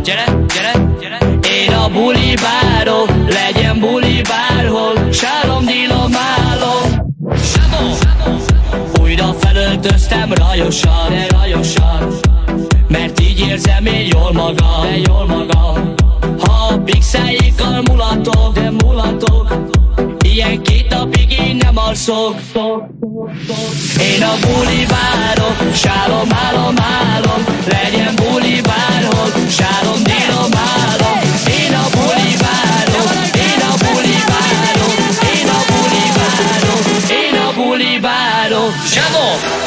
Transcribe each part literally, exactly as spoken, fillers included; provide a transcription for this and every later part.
gyere, gyere, gyere. Én a buli bárom, legyen buli bárhol, sálom, dílom, álom. Zsabó! Újra felöltöztem rajosan, de rajosan, mert így érzem én jól magam, de jól magam. Ha a pixeljékkal mulatok, de mulatok, ilyen két napig én nem alszok. Én a buli várok, sálom, álom, álom, legyen buli bárhol, sálom, dílom, álom. Én a buli várok, én a buli várok, én a buli várok, én a buli várok. Zsabó!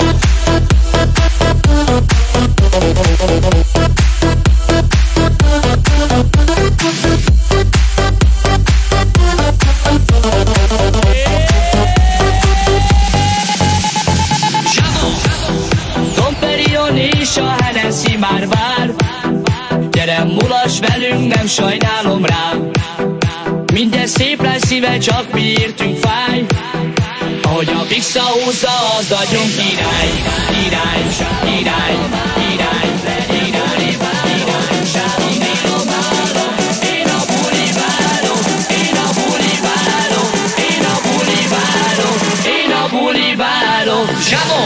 És a Hennessy már vár, gyere mulass velünk, nem sajnálom rám. Minden szép lesz szíve, csak mi értünk fáj. Ahogy a pixa húzza, az agyon király. Király, király, király, király, király, sálom, dílom, álom. Én a buli várom, én a buli várom, én a buli várom, én a buli várom. Zsabó!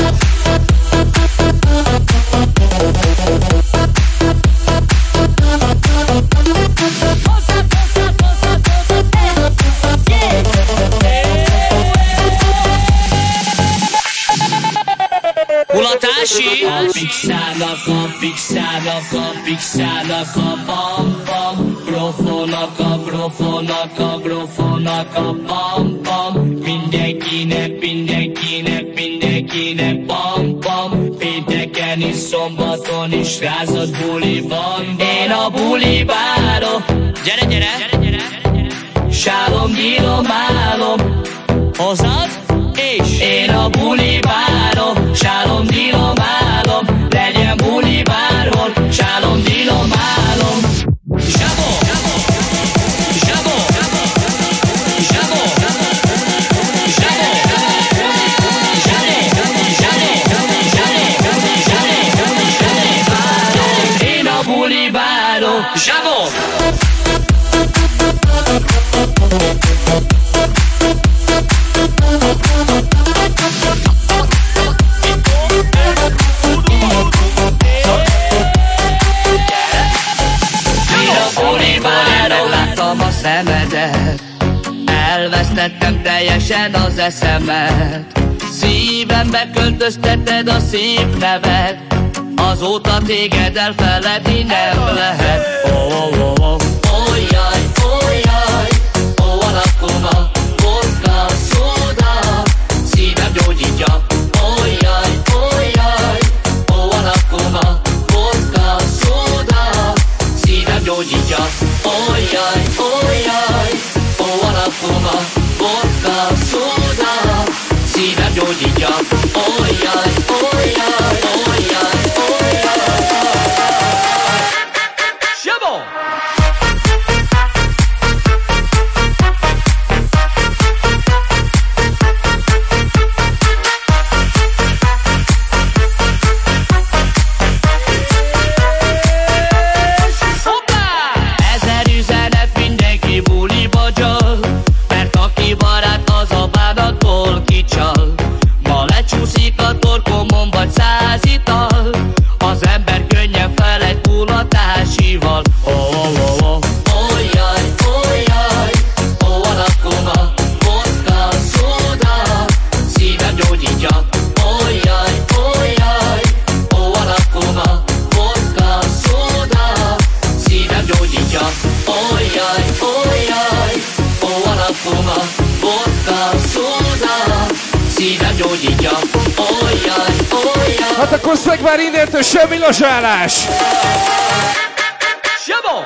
Mulatási! A pixának, a pixának, a pixának, a bam bam, grofonak, a grofonak, a grofonak, a bam bam. Mindenkinek, mindenkinek, mindenkinek bam bam. Pénteken és szombaton is rázott buli van. Én a buli várom, gyere, gyere, gyere, gyere, gyere. Sálom, dílom, álom, hozad, és én a buli várom, sálom, dílom, álom, legyen buli bárhol, sálom, dílom, álom. Zsabó! Zsabó! Zsabó! Zsabó! Én a buli várom, zsabó! Megláttam a szemedet, elvesztettem teljesen az eszemet. Szívembe költöztetted a szép nevet, azóta téged elfeledni nem lehet. Oh, oh, oh, oh. Oh, jaj, oh, jaj, oh, alakoma, vodka, szóda, szívem gyógyítja. Oh, jaj, oh, jaj, oh, alakoma, vodka, szóda, szívem gyógyítja. Oh, jaj, oh, jaj, oh, alakoma, vodka, szóda, szívem gyógyítja. Oh, jaj, oh, jaj, oh, jaj, oh, jaj. Zsabó! Hát akkor szeg már innentől semmi lazsálás! Zsabó!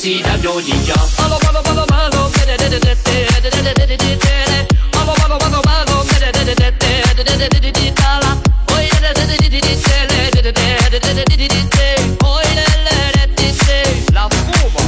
szívem gyógyítja. La fumo.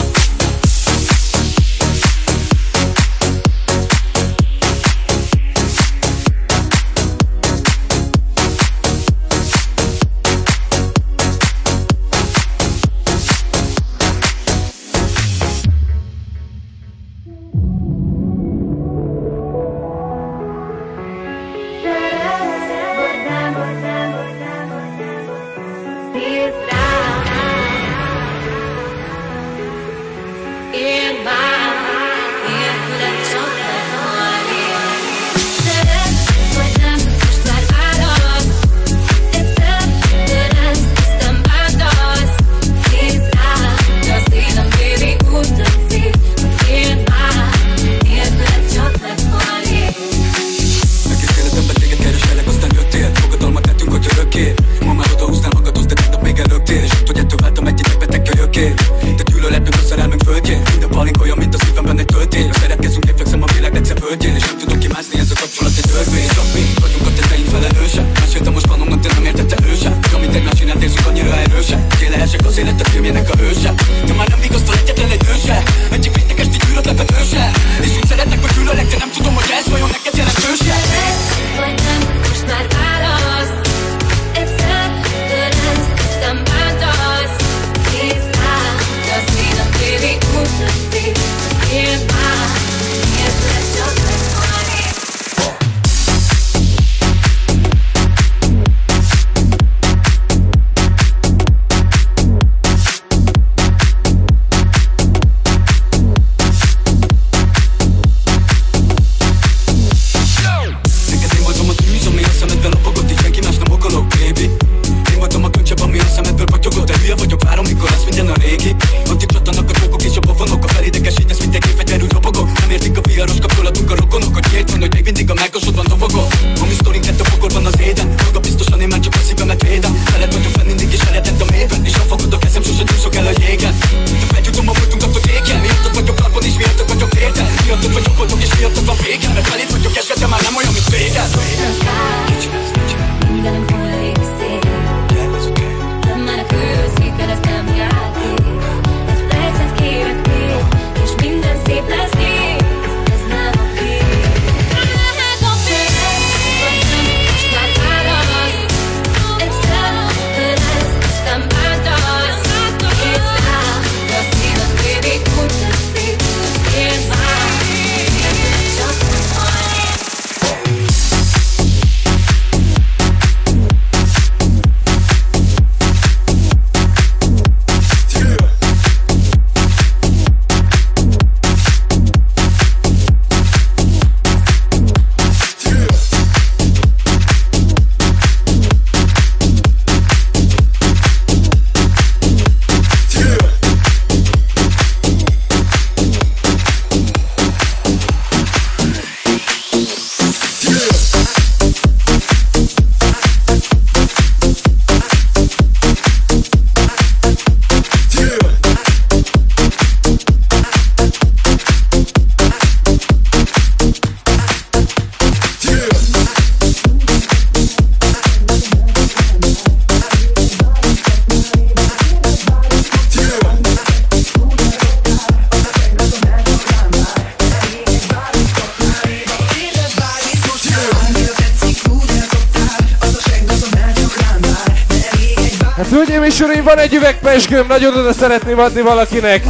Hölgyeim és uraim, van egy üveg pezsgőm, nagyon oda szeretném adni valakinek.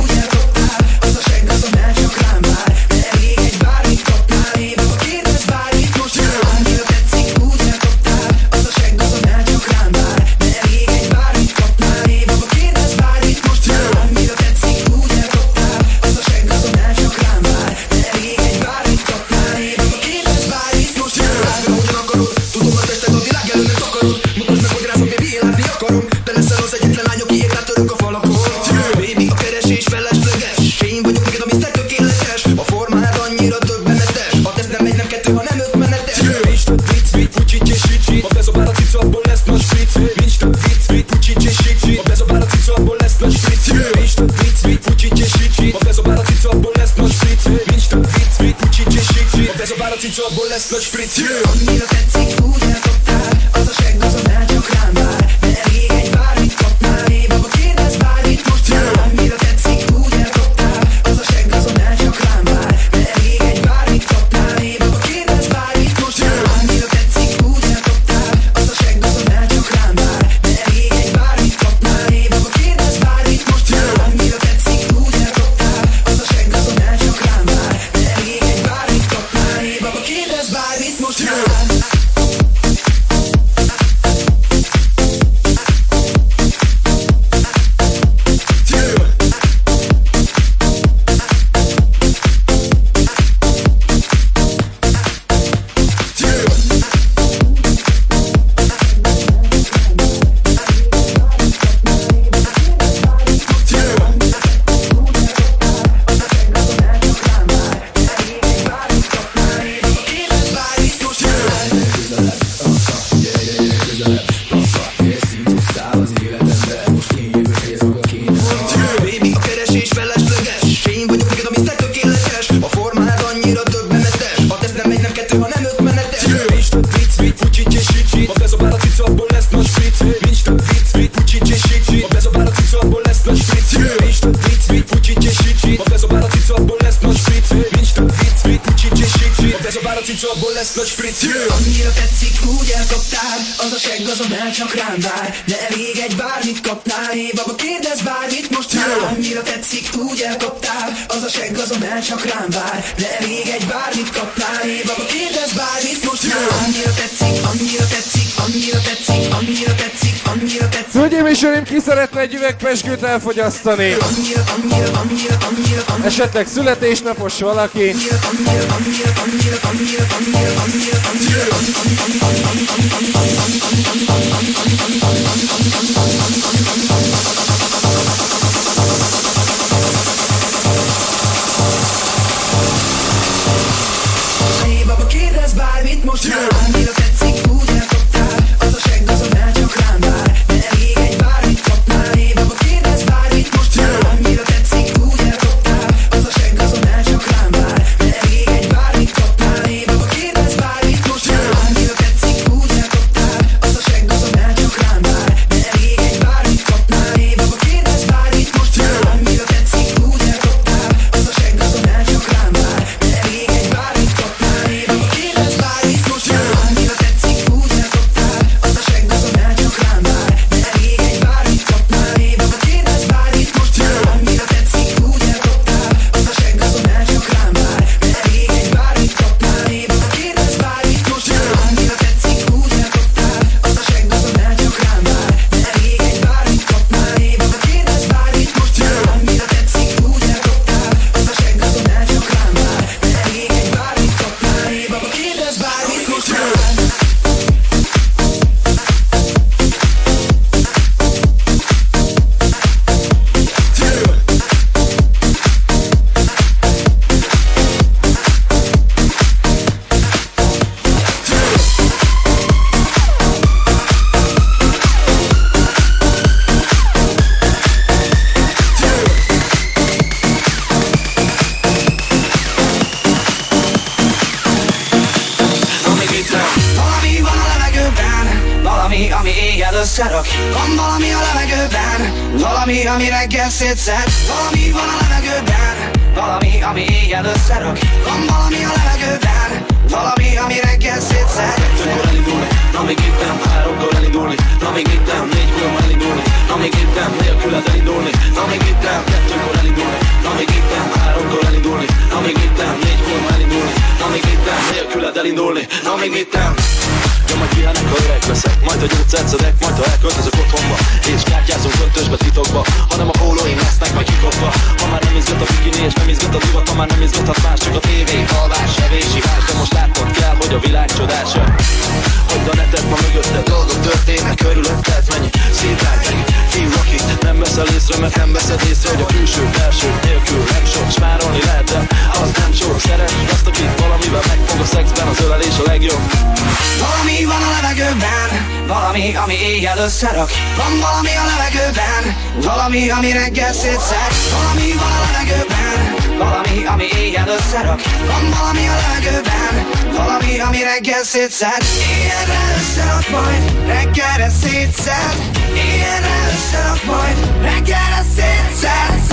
Nincs több vicc, vicc, fucsi, cséség, a bezabál a cica, abból lesz nagy spritz. Nincs több vicc, vicc, fucsi, cicabból lesz nagy spritz. Annyira tetszik, úgy elkaptál, az a segg azonnal csak rám vár. De elég egy bármit kapnál, hé baba kérdezz bármit most már. Annyira tetszik, úgy elkaptál, az a segg azonnal csak rám vár. De elég egy bármit kapnál, hé baba kérdezz bármit most már. Annyira tetszik, úgy elkaptál, az a segg azonnal csak rám vár. De elég egy bármit kapnál, hé baba kérdezz bármit most már. Annyira tetszik, úgy elkaptál, az a segg azonnal csak rám vár. De elég egy bármit kapnál, hé baba kérdezz bármit most már. Annyira tetszik, úgy elkaptál, az a segg azonnal csak rám vár. De elég egy bármit kapnál, hé baba kérdezz bármit most már. Annyira tetszik, úgy elkaptál, az a segg azonnal csak rám vár. De elég egy bármit kapnál, hé baba kérdezz bármit most már. Annyira tetszik, annyira tetszik, annyira tetszik, annyira tetszik, annyira tetszik. Hölgyeim és uraim, ki szeretne egy üveg pezsgőt elfogyasztani? Annyira, annyira, annyira, annyira, annyira. Esetleg születésnapos valaki? Annyira, annyira, annyira, annyira, annyira, annyira, annyira, annyira, hé baba kérdezz bármit most már. Annyira tetszik, úgy elkaptál, az a segg azonnal csak rám vár. De elég egy bármit kapnál, hé baba kérdezz bármit most már. Annyira tetszik, úgy elkaptál, az a segg azonnal csak rám vár. De elég egy bármit kapnál, hé baba kérdezz bármit most már. Annyira tetszik, úgy elkaptál, az a segg azonnal csak rám vár. De elég egy bármit kapnál, hé baba kérdezz bármit most már. Annyira tetszik, úgy elkaptál, az a segg azonnal csak rám vár. De elég egy bármit kapnál, hé baba kérdezz bármit most már. Annyira tetszik, úgy elkaptál, az a segg azonnal csak rám vár. De elég egy bármit kapnál, hé baba kérdezz bármit most már. Annyira tetszik, úgy elkaptál, az a segg azonnal csak rám vár. De elég egy bármit kapnál, hé baba kérdezz bármit most már. Annyira tetszik, úgy elkaptál, az a segg azonnal csak rám vár. De elég egy bármit kapnál, hé baba kérdezz bármit most már. Annyira tetszik, úgy elkaptál, az a segg azonnal csak rám vár. De elég egy bármit kapnál, hé baba kérdezz bármit most már. Valami van a levegőben, valami, ami éjjel összerak. Van valami a levegőben, valami, ami reggel szétszed. Valami van a levegőben, valami, ami éjjel összerak. Van valami a levegőben, valami, ami reggel szétszed. Kettőkor elindulni, na még itt nem, háromkor elindulni, na még itt nem, négykor elindulni, na még itt nem, nélküled elindulni, na még itt nem, kettőkor elindulni, na még itt nem, háromkor elindulni, na még itt nem, négykor elindulni, na még itt nem, nélküled elindulni, na még itt nem. Ja, majd kiállnak, ha öreg leszek, majd a gyógyszert szedek, majd ha elköltözök otthonba, és kártyázunk köntösbe titokba, hanem a pólóim lesznek majd kikopva. Ha már nem izgat a bikini és nem izgat a divat, ha már nem izgathat más, csak a tévé, alvás, evés, ivás, de most látnod kell, hogy a világ csodása. Hagyd a netet, ma mögötted dolgok történnek körülötted, mennyi szétrány, mennyi fiú, akit nem veszel észre, mert nem veszed észre, hogy a külső, belső nélkül nem sok, smárolni lehet, de az nem sok. Szeret azt, akit valamivel megfog a szexben, az ölelés a legjobb. Valami van a levegőben, valami, ami éjjel összerak. Van valami a levegőben, valami, ami reggel szétszed. Valami van a levegőben, valami, ami éjjel összerak. Van valami a levegőben, valami, ami reggel szétszed. Ilyenre összerak majd, reggelre szétszed. Ilyenre összerak majd, reggelre szétszed.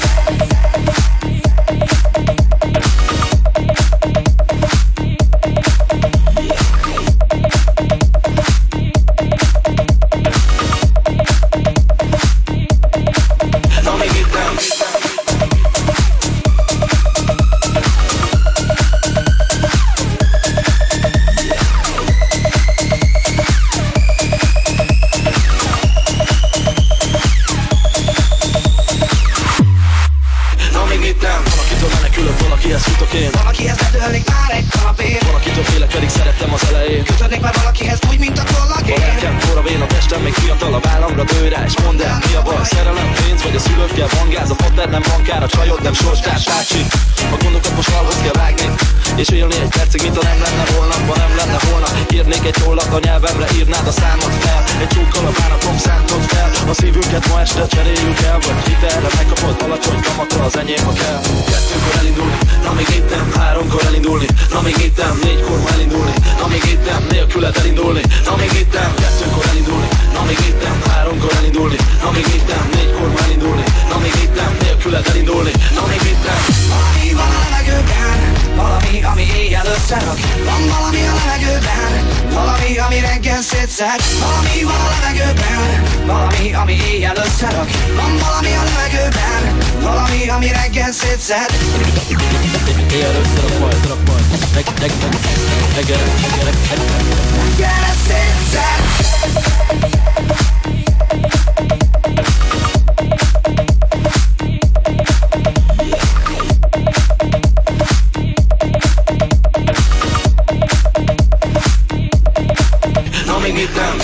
Valakihez bedőlnék már egy kanapén, valakitől félek, pedig szerettem az elején. kötődnék már valakihez úgy, mint a kollagén. Ha nekem forra vén a testem, még fiatal a vállamra dőj rá. És mondd el, mi a baj, szerelem, pénz, vagy a szülőkkel van gáz. A pater nem bankár, a csajod nem sorstárs, tácsi. A gondokat most valhoz kell vágni, és élni egy percig, mint ha nem lenne holnap, ha nem lenne holnap. Írnék egy hollat a nyelvemre, írnád a számot fel. Egy csókkal a bánatom szántod fel. A szívünket ma este cseréljük el, vagy hitelre megkapod alacsony kamatra, az enyém, ha kell. Kettőkor elindulni, na még itt nem. Háromkor elindulni, na még itt nem. Négykor ma elindulni, na még itt nem. Nélküled elindulni, na még itt nem. Kettőkor elindulni, na még itt nem. Háromkor elindulni, na még itt nem. Négykor ma elindulni, na még itt nem. Nélküled elindulni, na még itt nem. Valami van a levegőben, valami, ami éjjel összerak. Van valami a levegőben, valami, ami reggel szétszed. Valami van a levegőben, valami, ami éjjel összerak. Van valami a levegőben, valami, ami reggel szétszed. Éjjel összerak majd, összerak majd. Reggelre szétszed. Na még itt nem.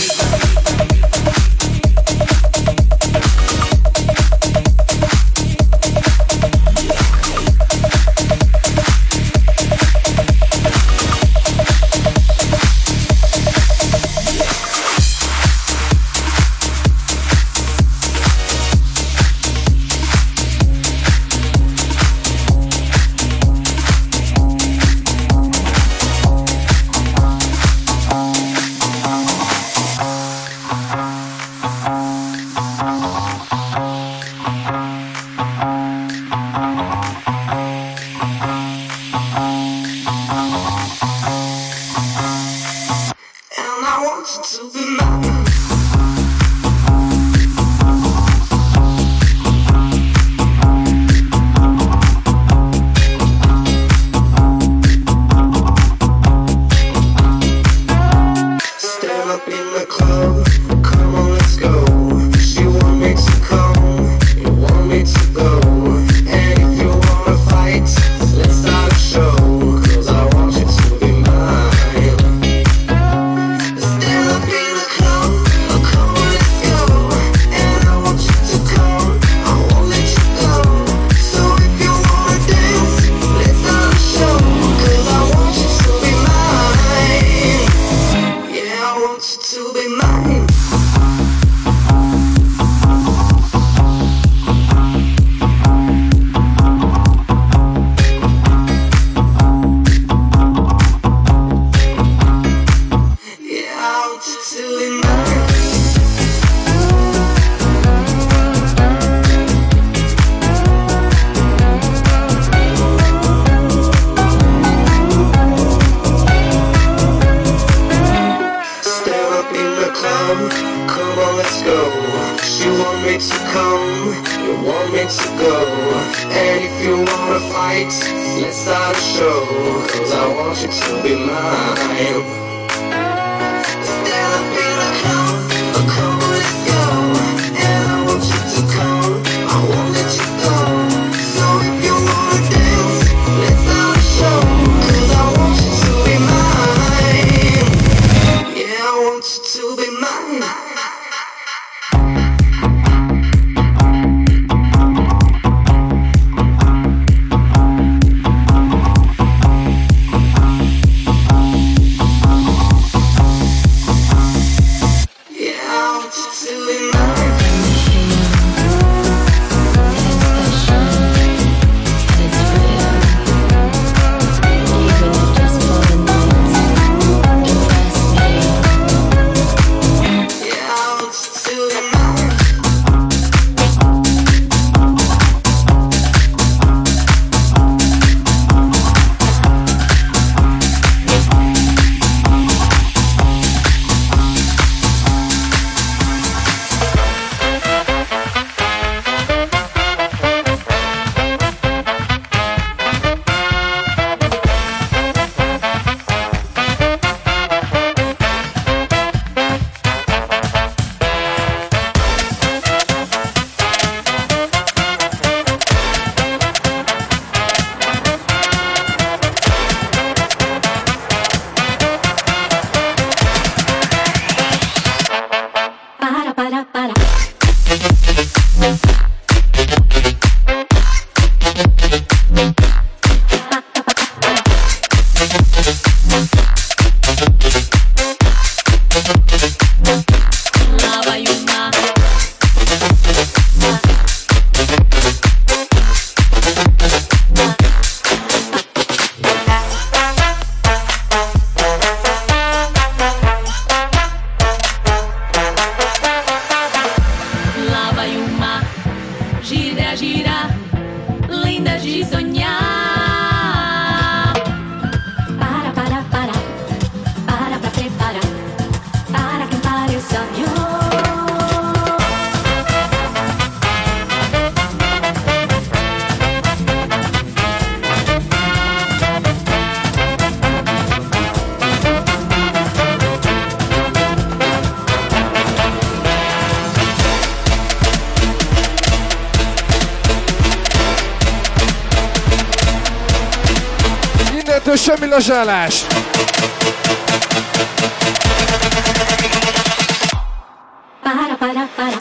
innentől semmi lazsálás. Para, para, para.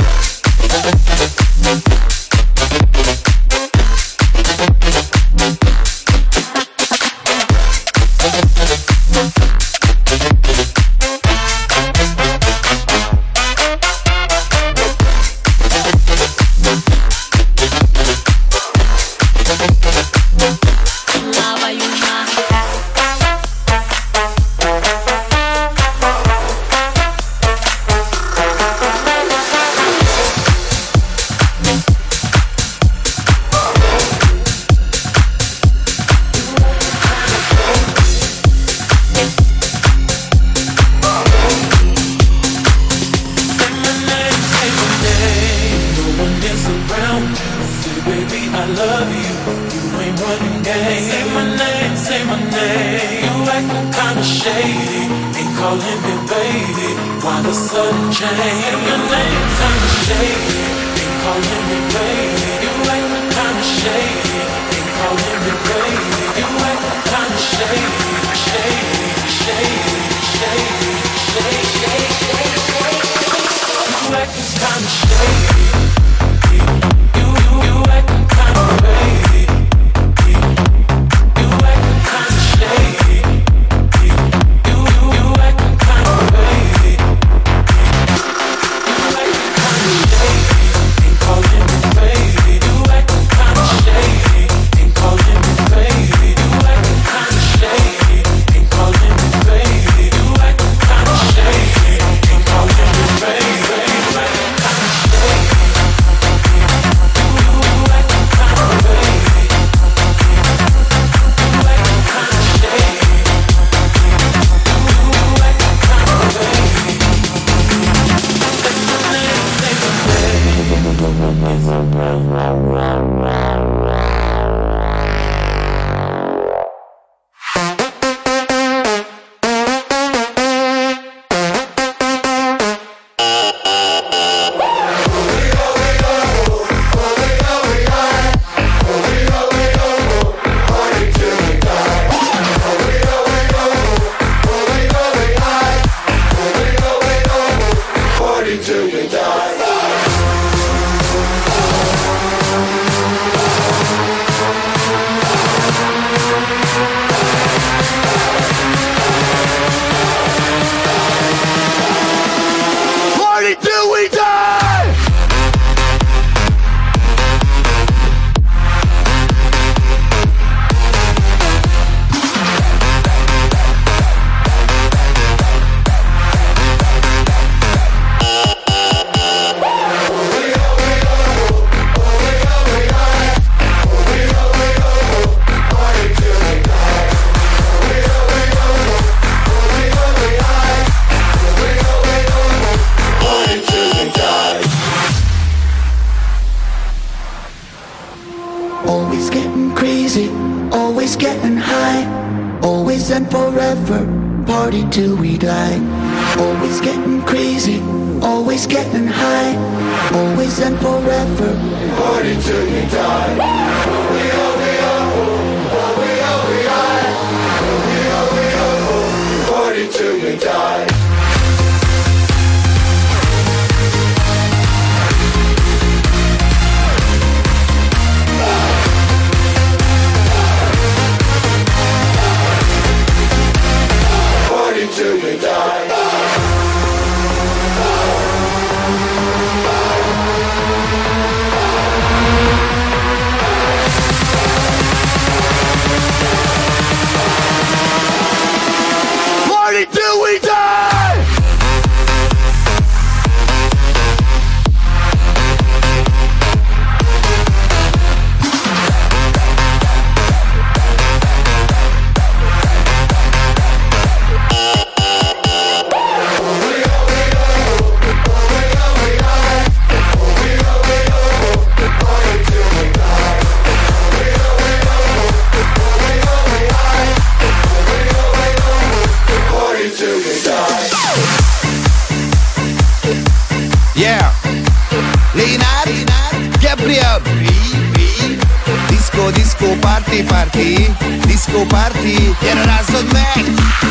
disco, party, party, disco, party, gyere rázzad meg!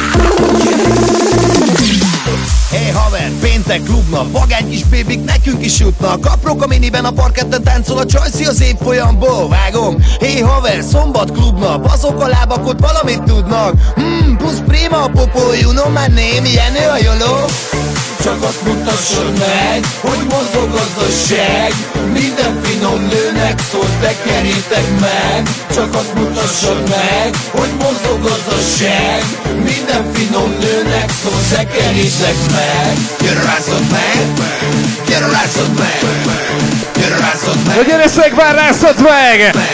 Hey haver, péntek klubnap, vagány kis bébik nekünk is jutnak. Aprok a miniben a parketten táncol a csajszi az évfolyamból, vágom. Hey haver, szombat klubnap, azok a lábak ott valamit tudnak. Hmm, plusz prima a popó, you know my name, Jenő a joló. Csak azt mutassad meg, hogy mozog az a seg. Minden finom nőnek szól, tekerjétek meg. Csak azt mutassad meg, hogy mozog az a seg. Minden finom nőnek szól, tekerjétek meg. Gyere rázzad meg, gyere rázzad meg, gyere rázzad meg. Na gyere szegvár, rázzad meg!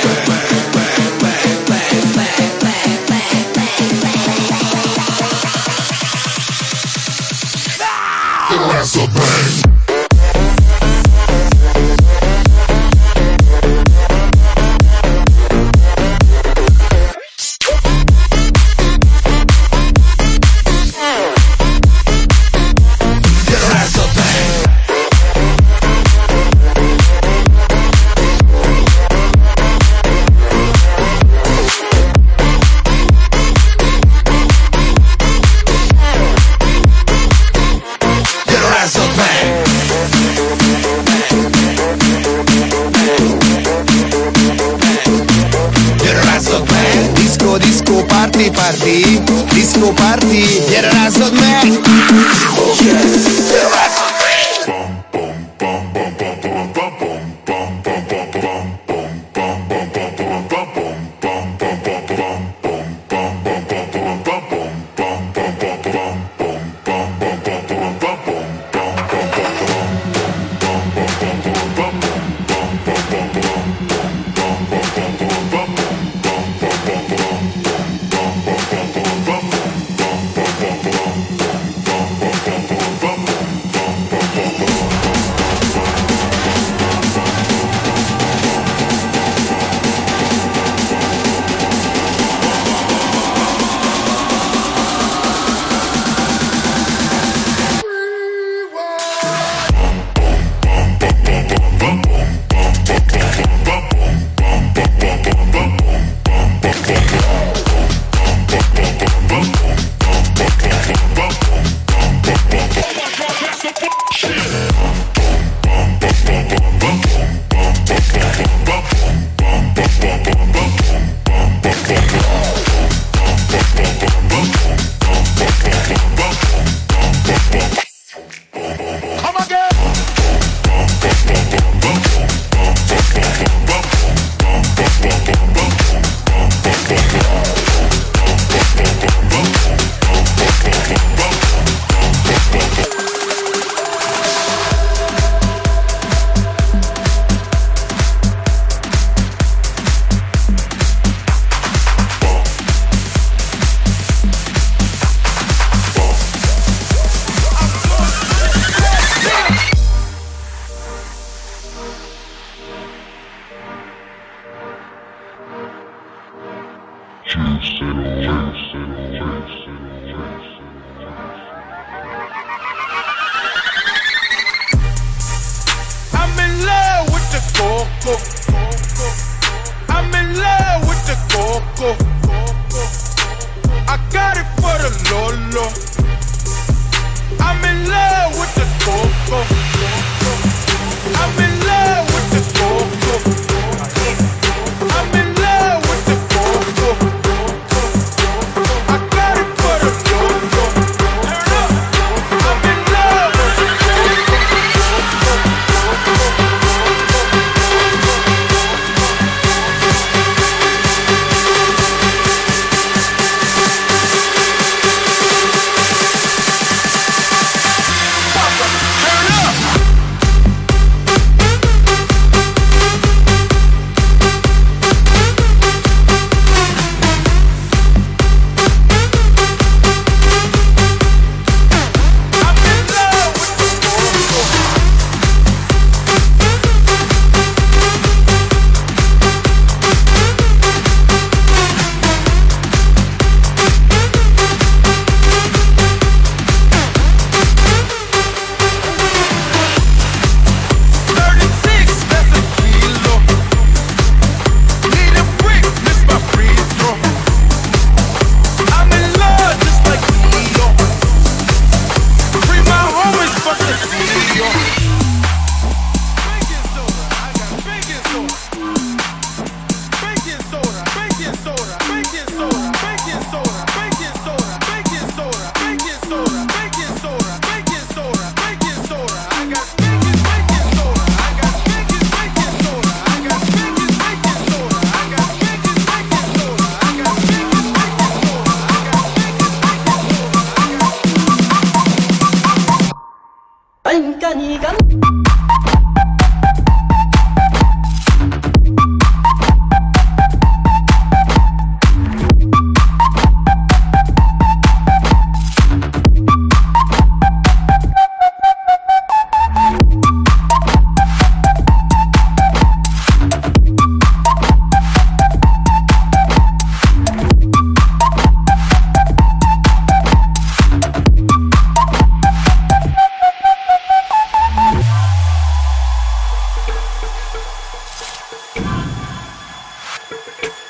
That's a bang. Party, party, disco party, gyere rázzad meg! Yes, gyere rázzad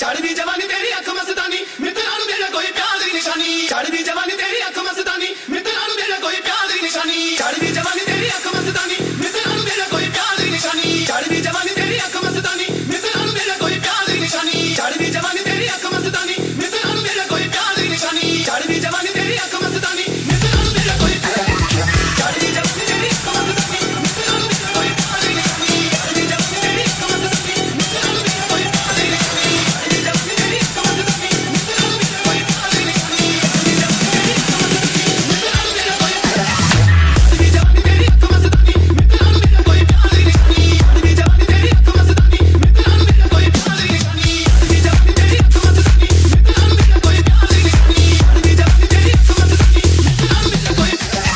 चढ़दी जवानी तेरी अख मस्तानी मित्रा नु देना कोई प्यार दी निशानी चढ़दी जवानी तेरी अख मस्तानी मित्रा नु देना कोई प्यार दी निशानी चढ़दी जवानी तेरी अख मस्तानी मित्रा नु देना कोई प्यार दी निशानी चढ़दी जवानी तेरी अख मस्तानी मित्रा नु देना कोई प्यार दी निशानी चढ़दी जवानी तेरी अख मस्तानी मित्रा नु देना कोई प्यार दी निशानी चढ़दी जवानी तेरी अख मस्तानी मित्रा नु देना कोई चढ़दी जवानी तेरी अख मस्तानी मित्रा नु देना कोई प्यार दी निशानी चढ़दी जवानी तेरी अख मस्तानी मित्रा नु देना कोई प्यार दी निशानी चढ़दी जवानी तेरी अख मस्तानी मित्रा नु देना कोई प्यार दी निशानी चढ़दी जवानी तेरी अख मस्तानी मित्रा नु देना कोई चढ़दी जवानी तेरी अख मस्तानी मित्रा नु देना कोई प्यार दी निशानी चढ़दी जवानी तेरी अख मस्तानी मित्रा नु देना कोई प्यार दी निशानी चढ़दी जवानी तेरी अख मस्तानी मित्रा नु देना कोई प्यार दी निशानी चढ़दी जवानी तेरी अख मस्तानी मित्रा नु देना कोई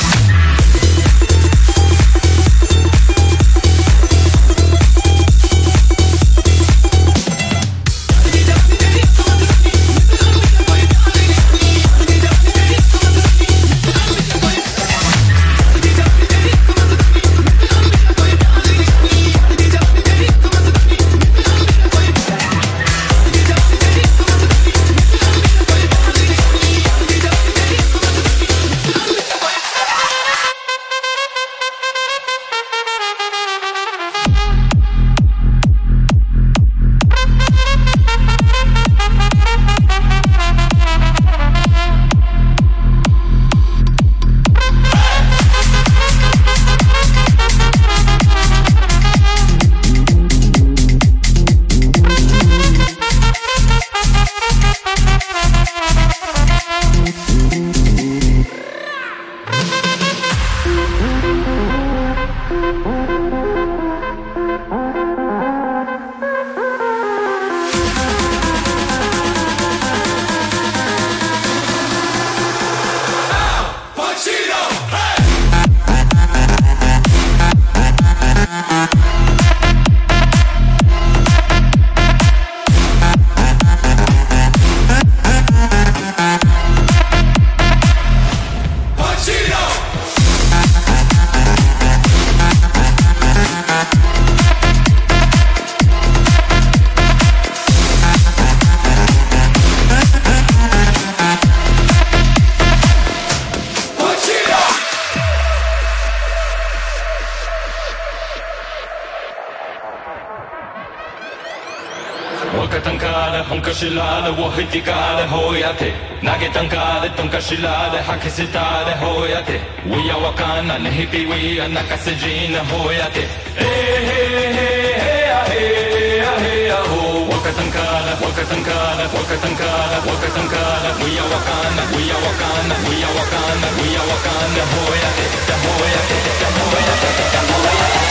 Shilale, wohitikale, hoyate. Nagetankale, tonkashilale, hakisitale, hoyate. We are wakana, nehipi, we are nakasejina, hoyate. Hey, hey, hey, hey, hey, hey, ho. Wakatankala, wakatankala, wakatankala, wakatankala. We are wakana, we are wakana, we are wakana, we are wakana, hoyate, hoyate, hoyate, hoyate.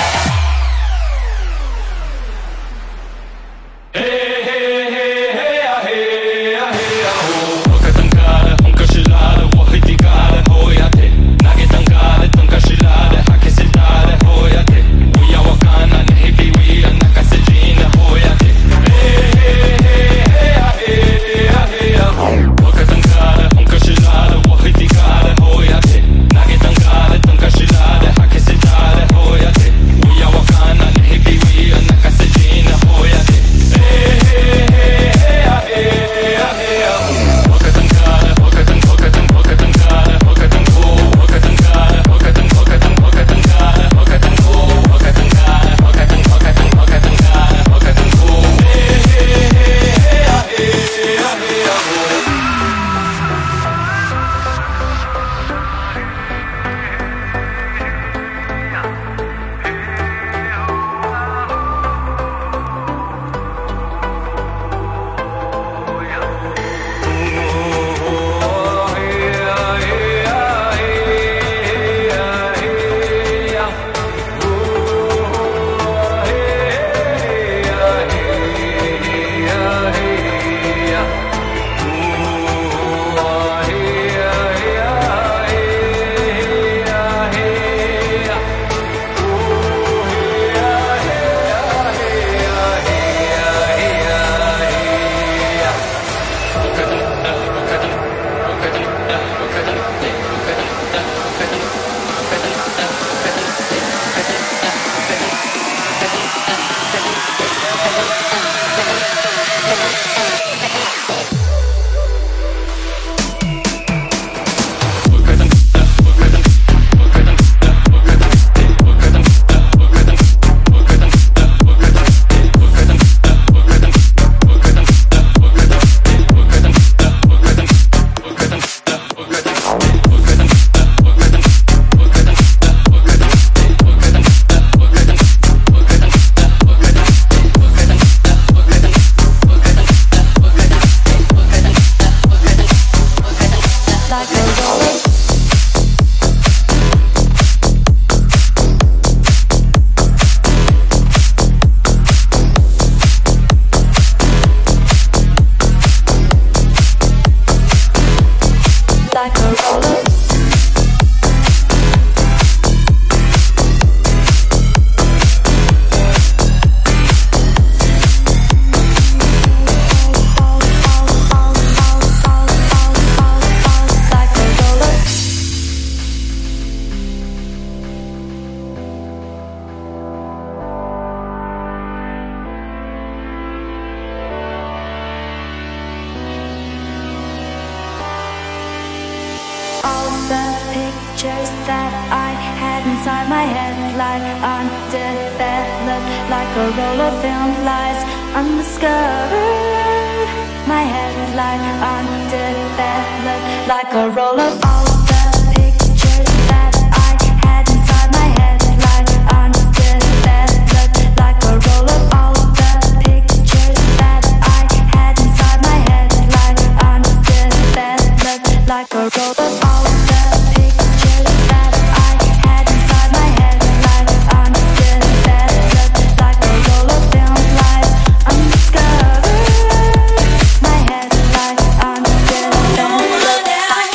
inside my head like undeveloped, like a roll of film lies undiscovered. My head like undeveloped, like a roll of all the pictures that I had inside my head like undeveloped, like a roll of all the pictures that I had inside my head like undeveloped, like a roll of all the pictures that I had inside my head like undeveloped, like a roll of film lies undiscovered. My head like undeveloped.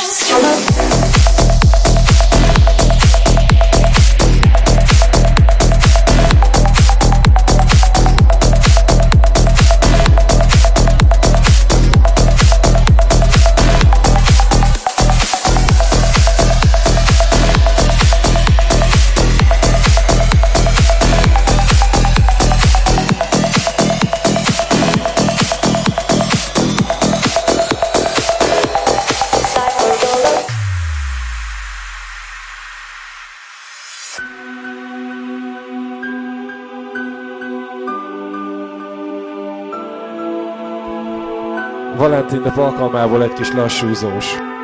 Valentin nap alkalmából egy kis lassúzós.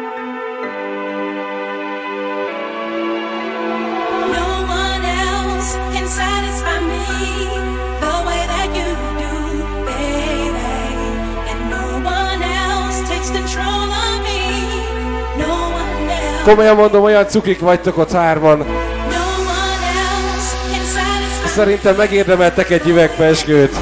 Komolyan mondom, olyan cukik vagytok ott hárman. Szerintem megérdemeltek egy üveg pezsgőt.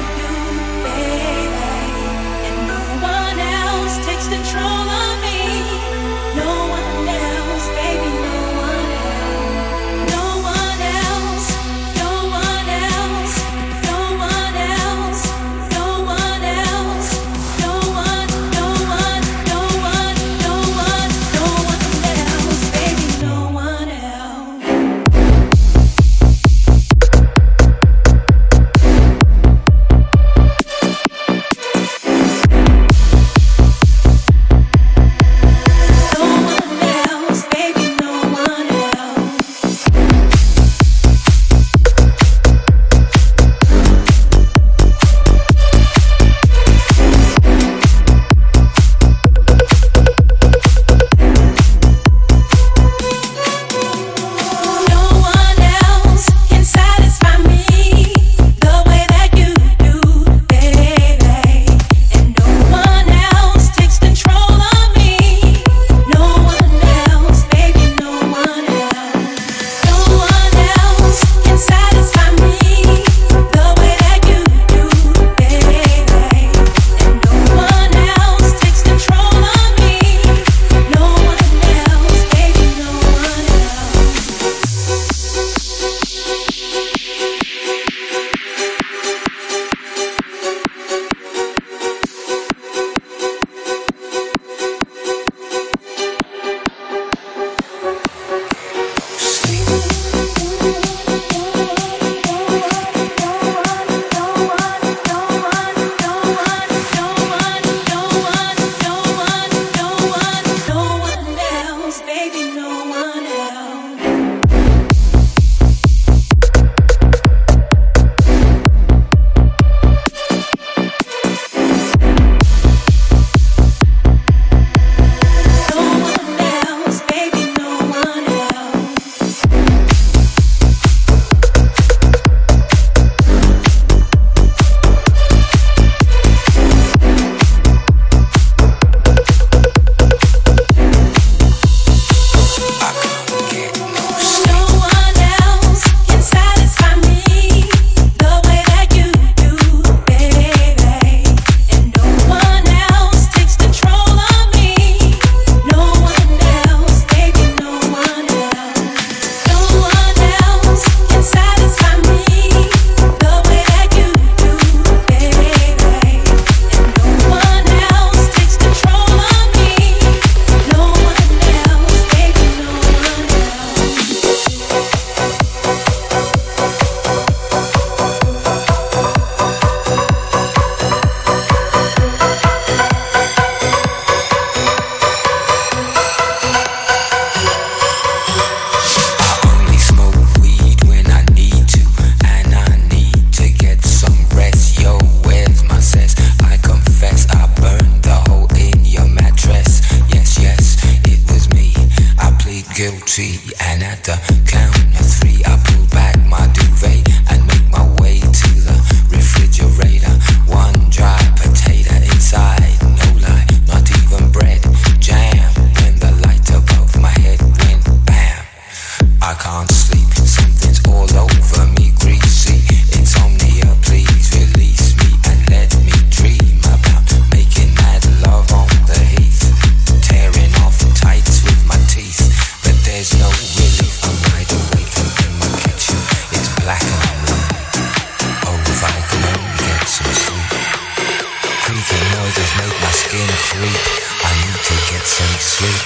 fucking creep. I need to get some sleep.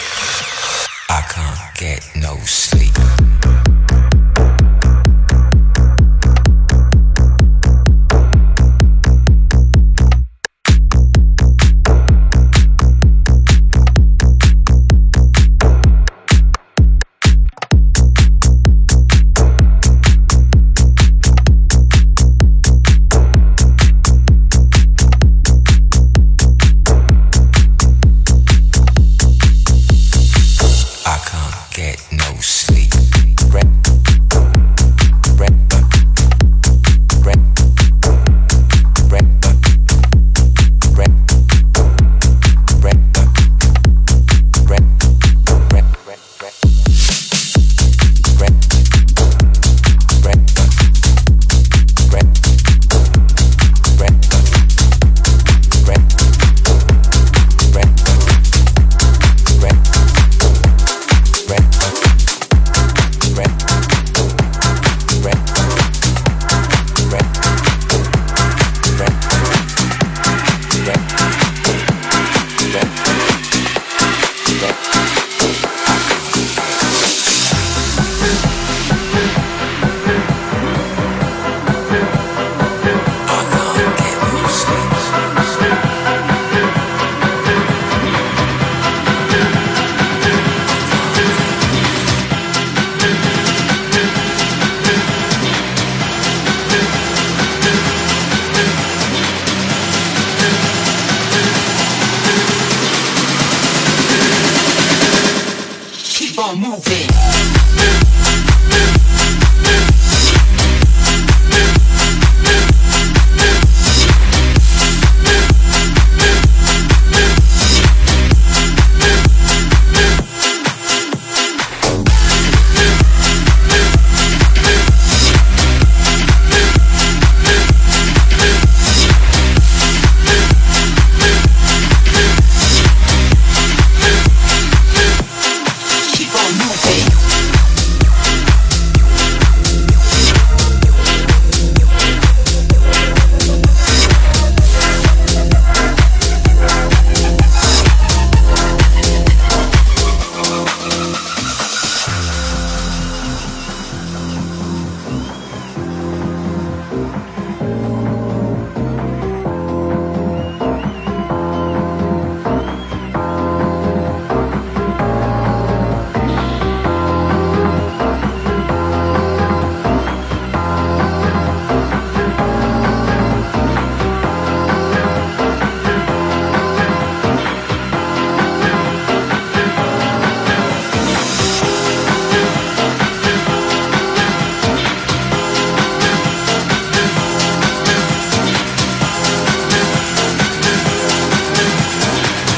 I can't get no sleep.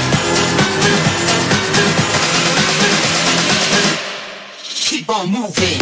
Keep on moving.